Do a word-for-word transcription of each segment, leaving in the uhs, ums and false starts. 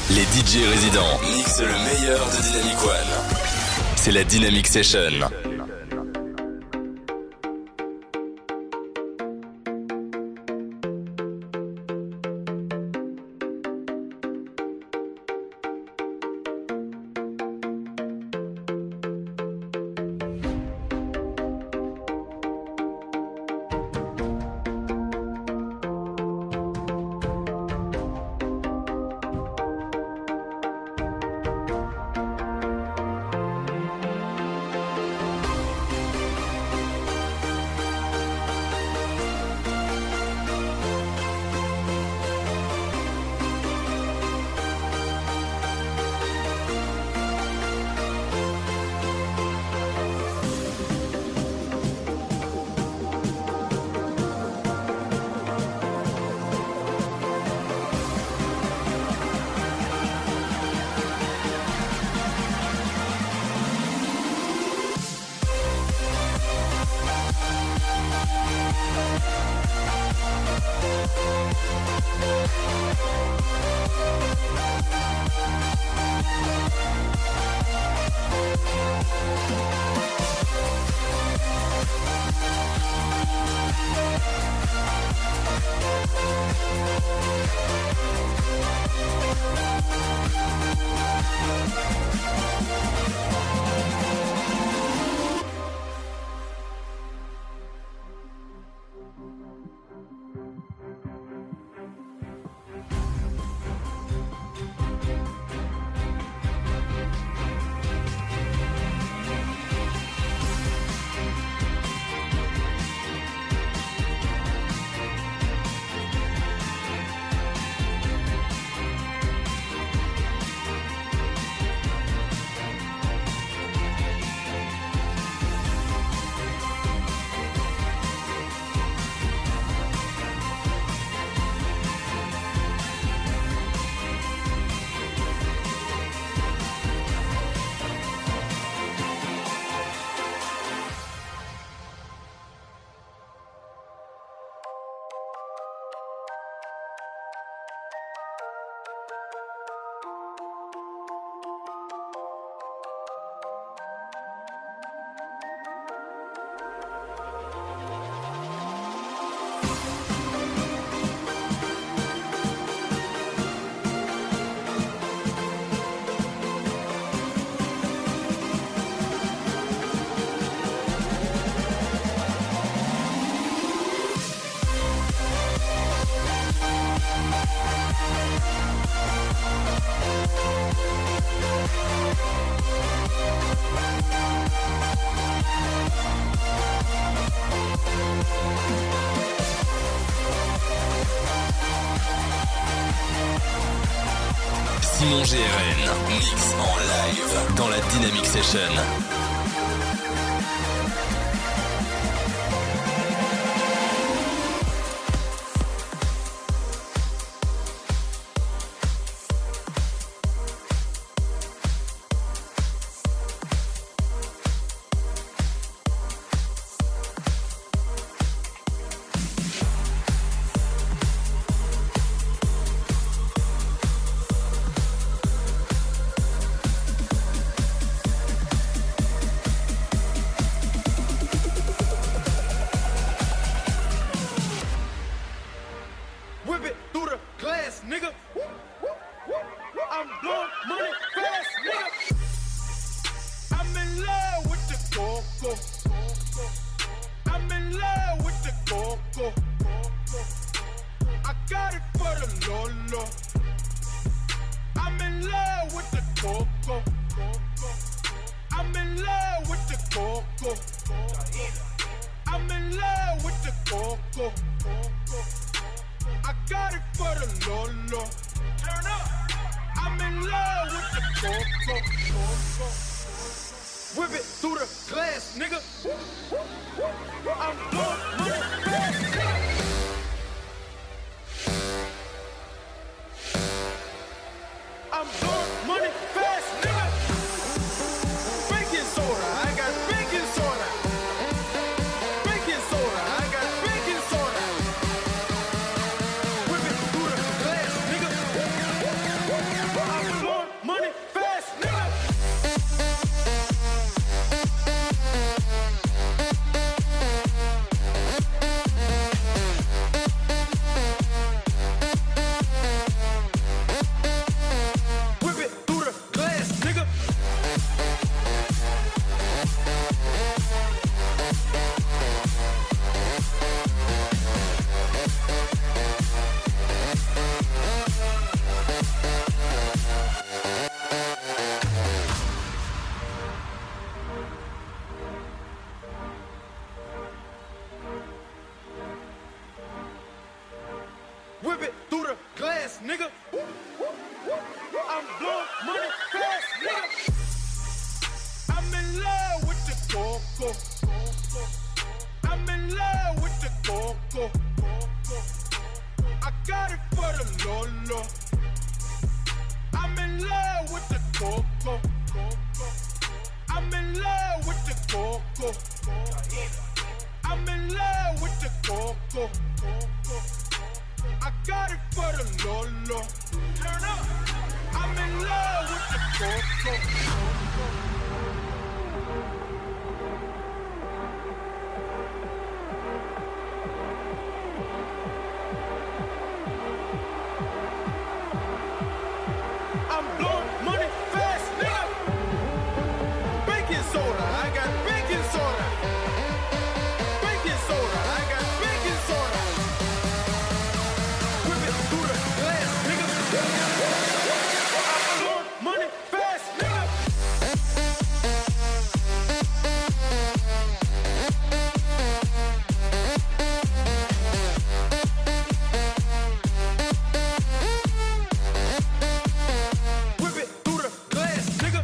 Les D J résidents mixent le meilleur de Dynamic One. C'est la Dynamic Session. Simon G R N, mix en live dans la Dynamic Session. I'm blowing money fast, nigga. I'm in love with the coco. I'm in love with the coco. I got it for the Lolo. I'm in love with the coco. I'm in love with the coco. I'm in love with the coco. I got it for the Lolo. Turn up. I'm in love with the coco. I'm blowing money fast, nigga. Baking soda, I got baking soda. Baking soda, I got baking soda. Whip it through the glass, nigga. I'm blowing money fast, nigga. Whip it through the glass, nigga.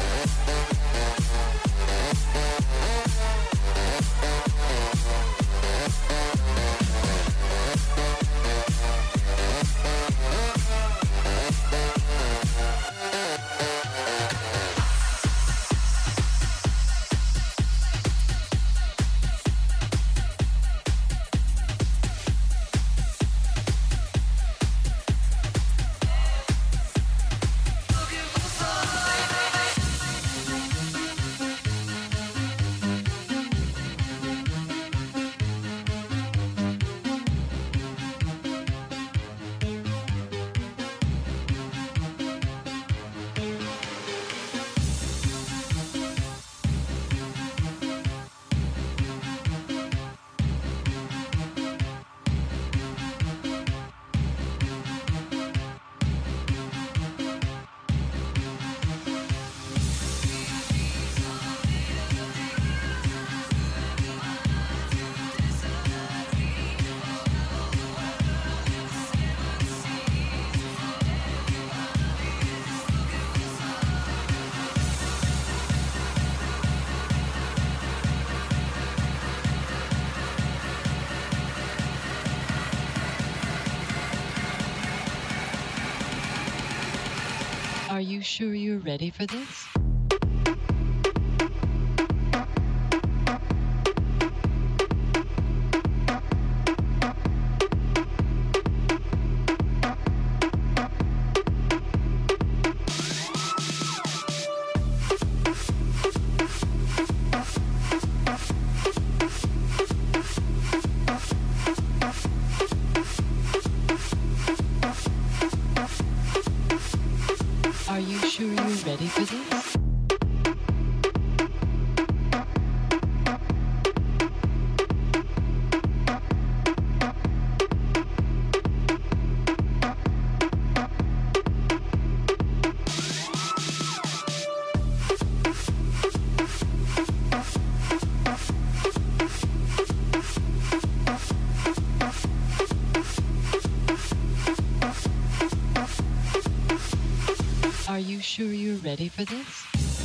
Are you sure you're ready for this? Are you sure you're ready for this? Are you sure you're ready for this?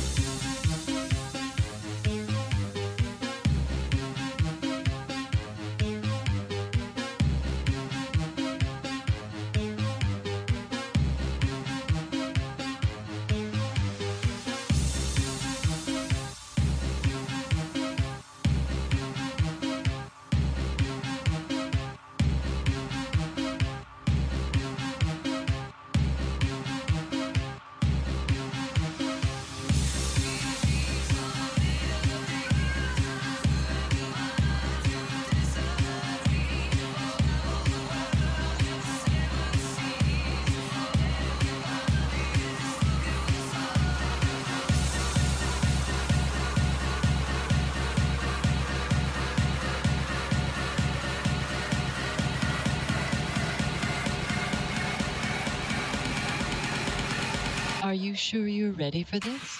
Are you sure you're ready for this?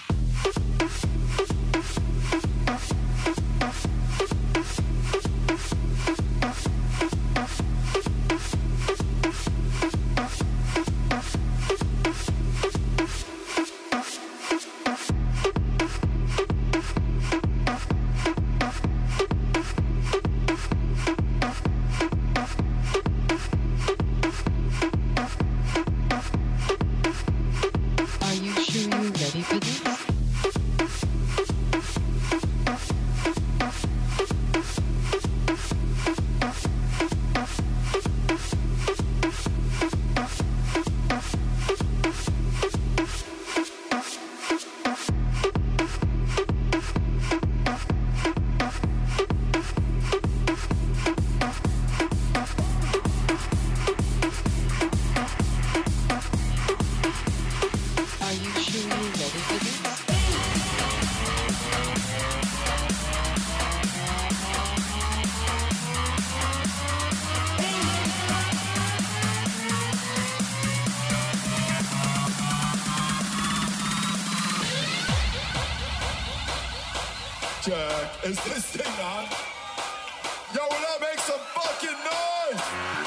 Jack, is this thing on? Yo, will I make some fucking noise?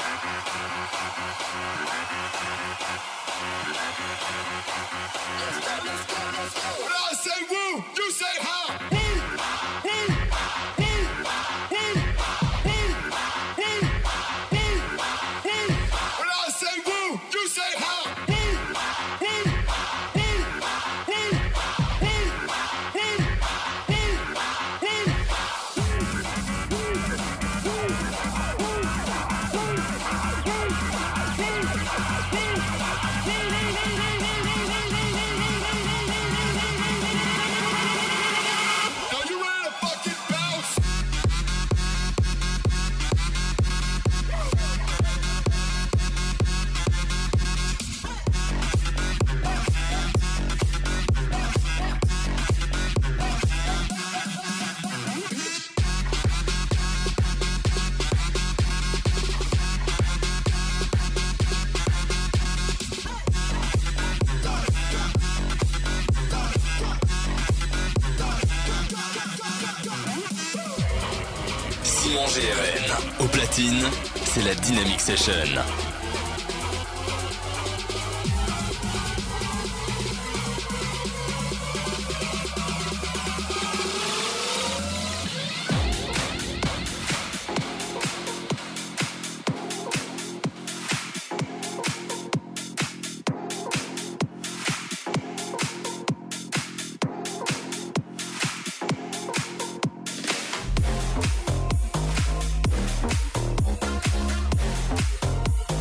When I say woo, you say how? Woo, woo, woo, woo, woo, woo, woo, woo. When I say woo, you say how? Woo, woo, woo, woo, woo, woo, woo, Are you ready to fucking bounce? Simon G R N. Au platine, c'est la Dynamic Session. We'll be right back.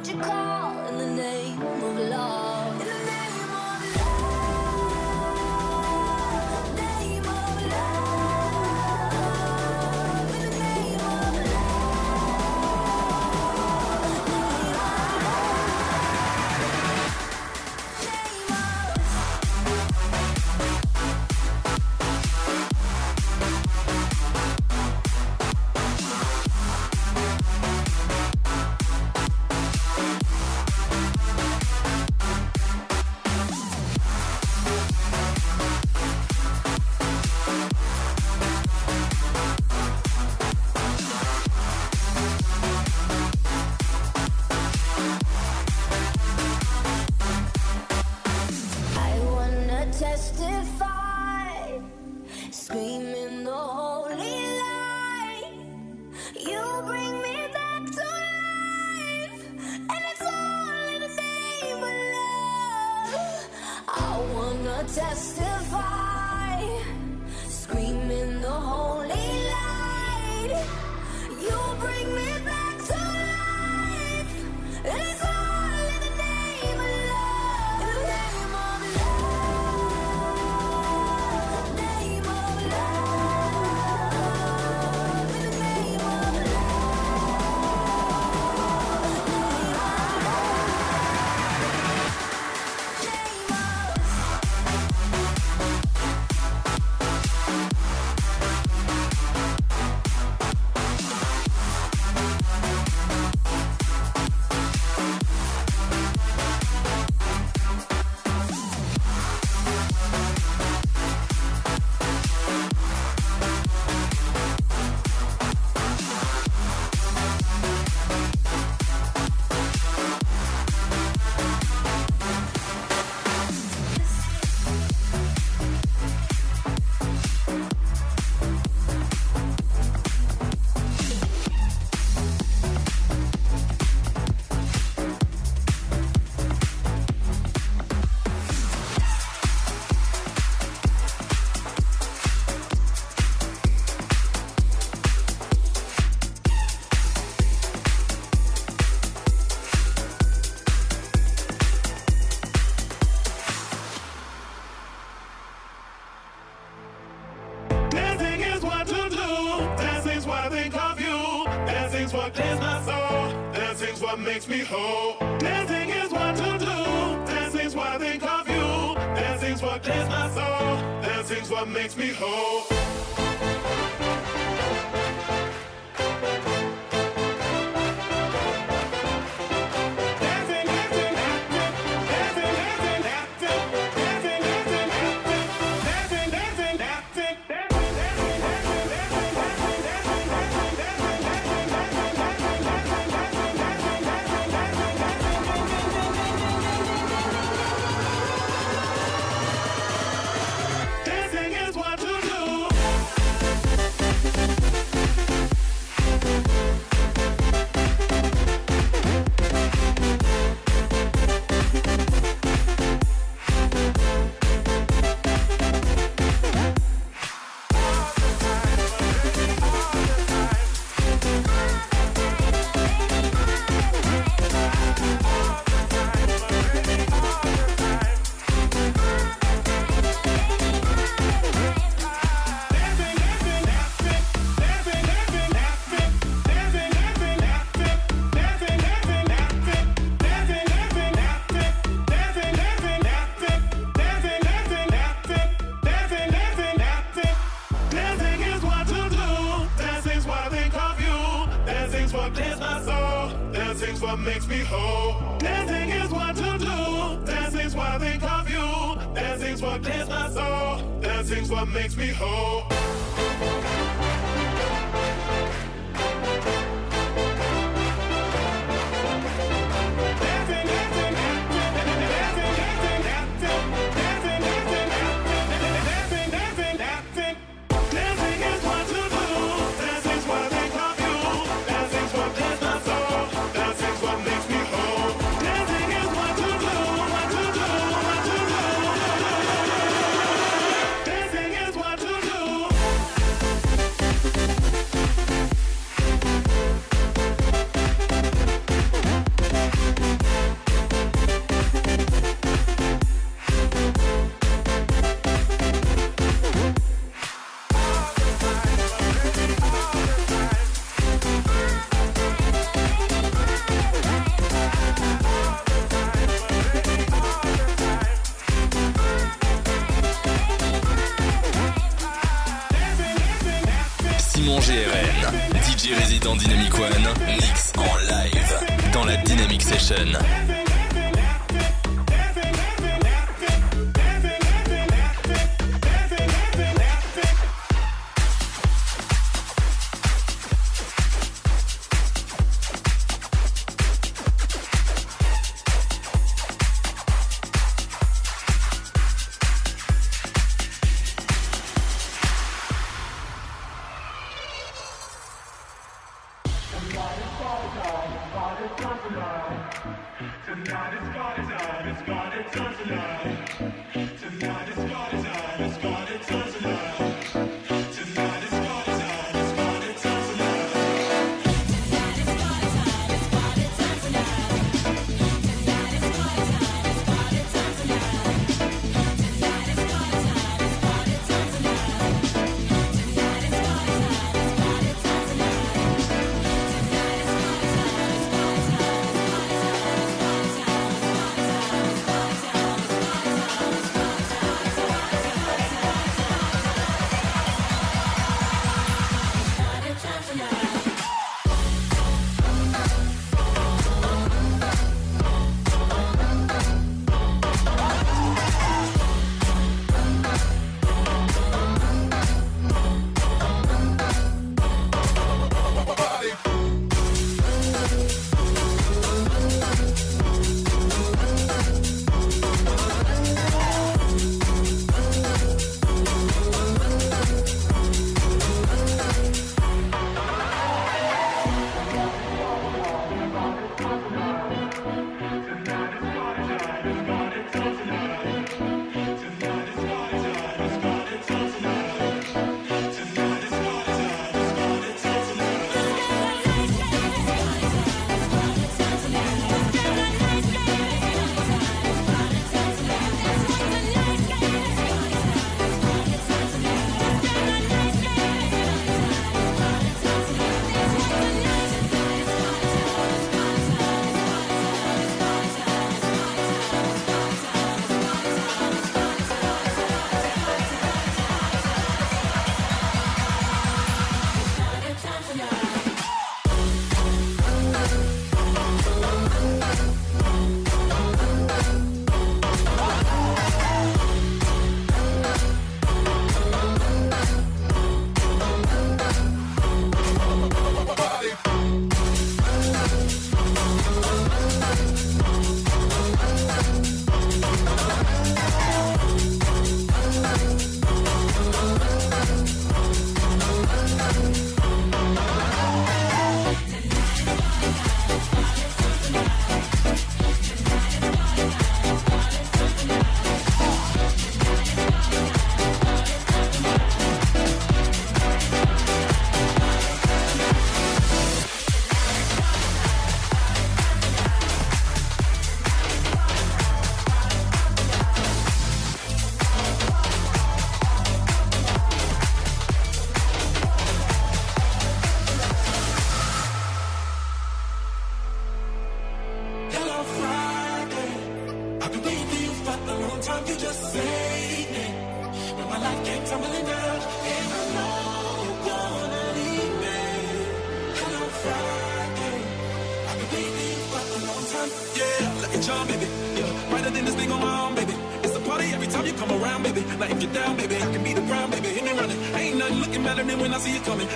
what you call in the name of love. In the name of love, name of love, in the name of testify, screaming the holy light. You bring me back to life, and it's all in the name of love. In the name of love, name of love, in the name of makes me whole. Dancing is what to do. Dancing's what I think of you. Dancing's what clears my soul. Dancing's what makes me whole. Makes me whole. Dancing is what to do. Dancing's what I think of you. Dancing's what clears my soul. Dancing's what makes me whole. love. G R N, D J résident Dynamic One, mix en live dans la Dynamic Session.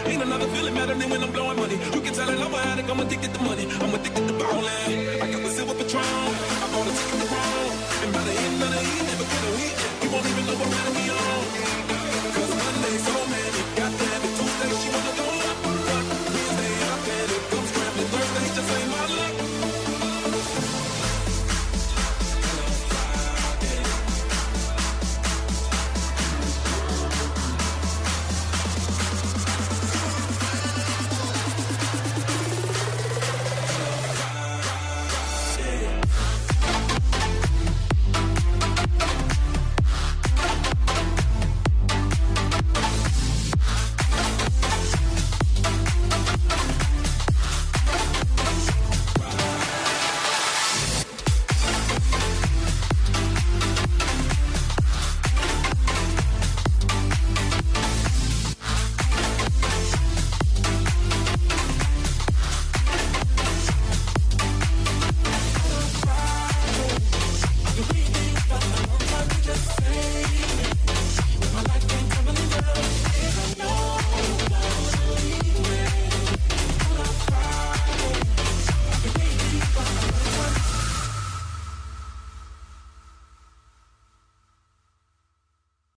When I'm blowing money, you can tell it I'm an addict, I'm addicted to money. I'm addicted to ballin'. I got the silver